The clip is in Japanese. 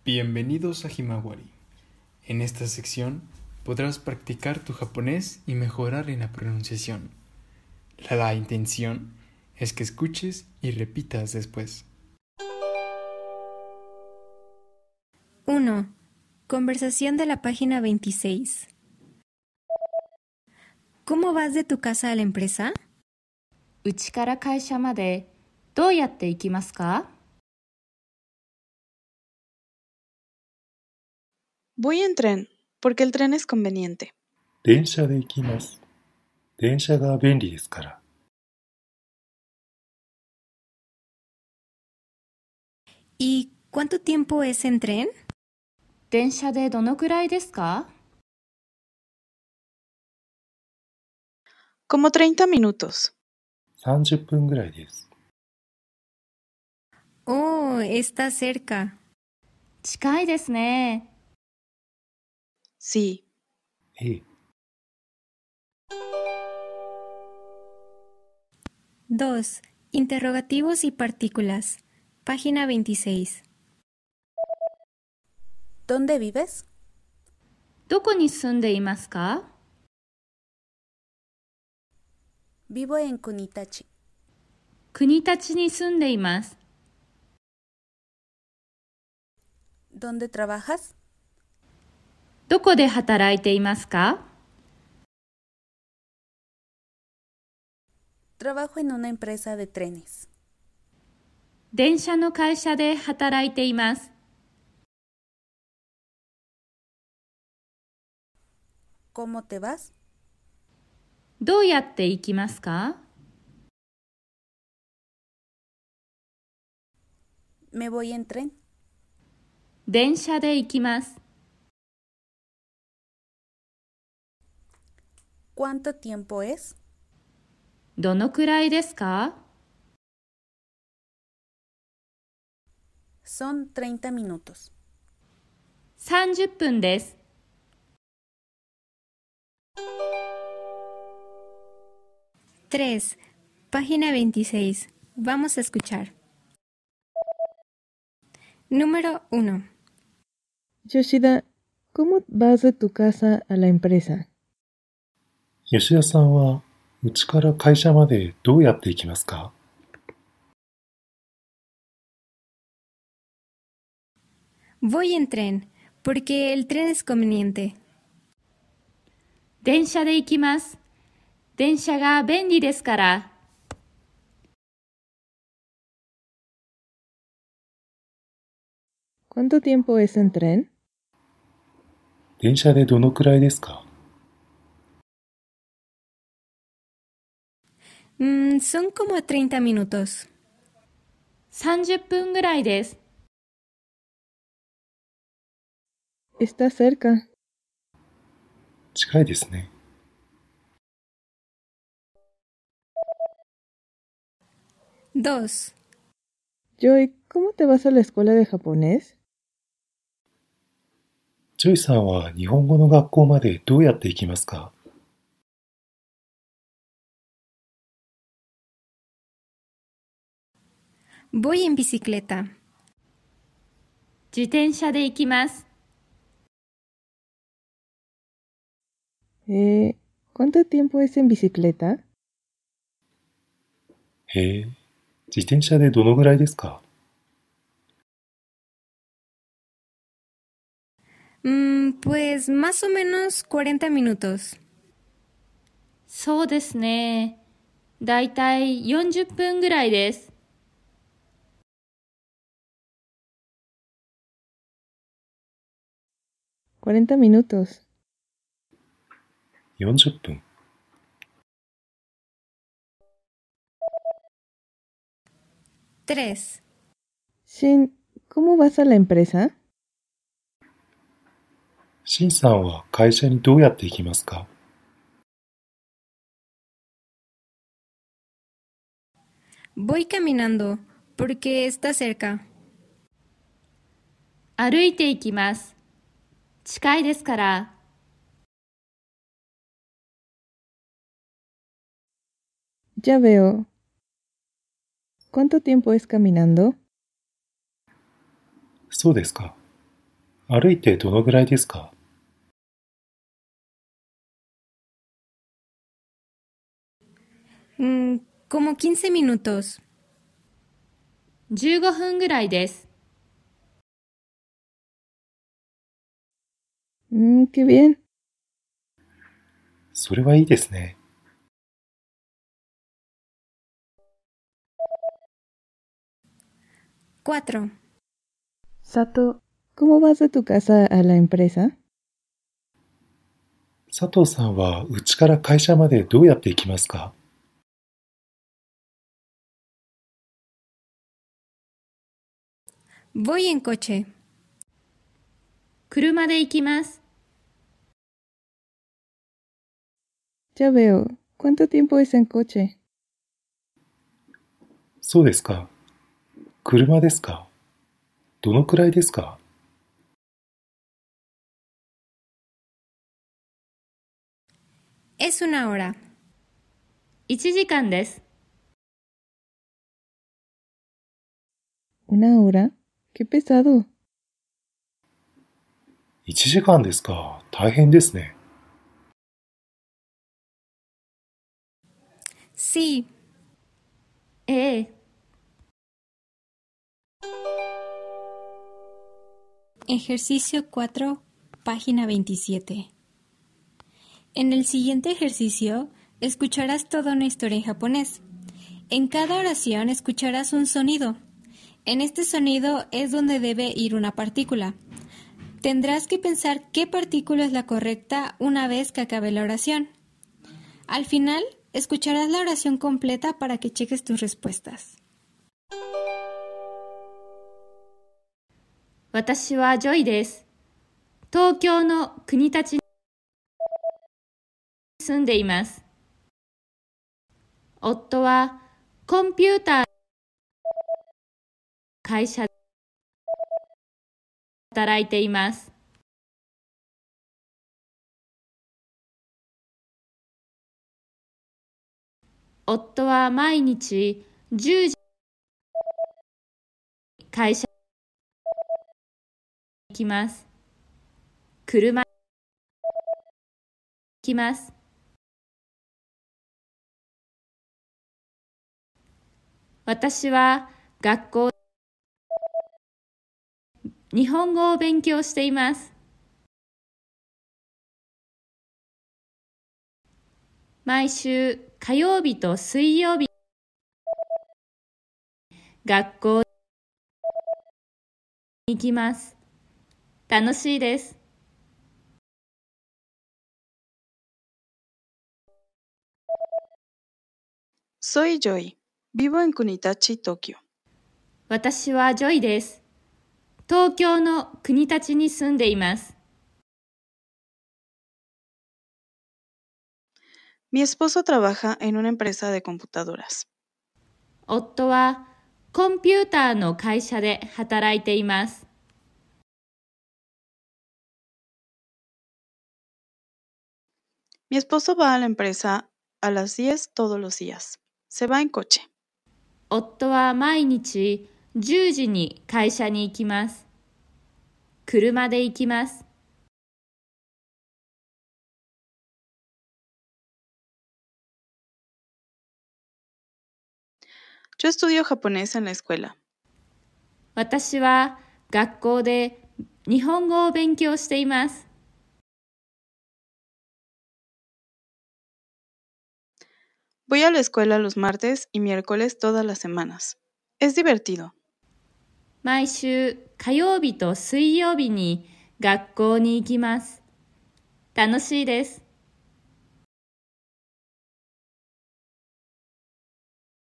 Bienvenidos a Himawari. En esta sección podrás practicar tu japonés y mejorar en la pronunciación. La intención es que escuches y repitas después. 1. Conversación de la página 26. ¿Cómo vas de tu casa a la empresa? うちから会社までどうやって行きますか? Voy en tren, porque el tren es conveniente. 電車で行きます。電車が便利ですから。 ¿Y cuánto tiempo es en tren? 電車でどのくらいですか? Como 30 minutos. 30分ぐらいです。 Oh, está cerca. 近いですね。 Sí. ええ。 2. Interrogativos y partículas. Página 26. ¿Dónde vives? どこに住んでいますか? Vivo en Kunitachi. 国立に住んでいます。 ¿Dónde trabajas? どこで働いていますか? Trabajo en una empresa de trenes. 電車の会社で働いています。 ¿Cómo te vas? どうやって行きますか? Me voy en tren. 電車で行きます。 ¿Cuánto tiempo es? どのくらいですか? Son 30 minutos. 30分です。 3. Página 26. Vamos a escuchar. Número 1. Yoshida, ¿cómo vas de tu casa a la empresa? 吉田さんは、うちから会社までどうやって行きますか? Voy en tren, porque el tren es conveniente. 電車で行きます。電車が便利ですから。 ¿Cuánto tiempo es en tren? 電車でどのくらいですか? Son como 30 minutos. 30分ぐらいです。 Está cerca. 近いですね。 2. Joy, ¿cómo te vas a la escuela de japonés? ジョイさんは日本語の学校までどうやって行きますか? Voy en bicicleta. 自転車で行きます。 ¿Cuánto tiempo es en bicicleta? へえ、自転車でどのぐらいですか? Pues más o menos 40 minutos. そうですね。だいたい40分ぐらいです。 40 minutos. 40分。 3. Shin, ¿cómo vas a la empresa? シンさんは会社にどうやって行きますか? Voy caminando, porque está cerca. 歩いて行きます。近いですから。 Ya veo. ¿Cuánto tiempo es caminando? そうですか。 歩いてどのぐらいですか？ Como 15 minutos. 15分ぐらいです。 Qué bien. それはいいですね。 4. Sato, ¿cómo vas de tu casa a la empresa? 佐藤さんは家から会社までどうやって行きますか？ Voy en coche. 車で行きます。 Ya veo. ¿Cuánto tiempo es en coche? そうですか。車ですか？どのくらいですか？ Es 1 hora. 1時間です。 ¿Una hora? Qué pesado. 1時間ですか。大変ですね。 Sí. ええ。 Ejercicio 4, página 27. En el siguiente ejercicio, escucharás toda una historia en japonés. En cada oración escucharás un sonido. En este sonido es donde debe ir una partícula. Tendrás que pensar qué partícula es la correcta una vez que acabe la oración. Al final, escucharás la oración completa para que cheques tus respuestas. 私はジョイです。東京の国立に住んでいます。夫はコンピューター会社で働いています。夫は毎日10時会社に行きます。車で行きます。私は学校で日本語を勉強しています。毎週火曜日と水曜日学校に行きます。楽しいです。 Soy Joy. Vivo en Kunitachi, Tokio. 私はジョイです。東京の国立に住んでいます。 Mi esposo trabaja en una empresa de computadoras. 夫はコンピューターの会社で働いています。 Mi esposo va a la empresa a las 10 todos los días. Se va en coche. 夫は毎日10時に会社に行きます。車で行きます。 Yo estudio japonés en la escuela. 私は学校で日本語を勉強しています。 Voy a la escuela los martes y miércoles todas las semanas. Es divertido. 毎週火曜日と水曜日に学校に行きます。楽しいです。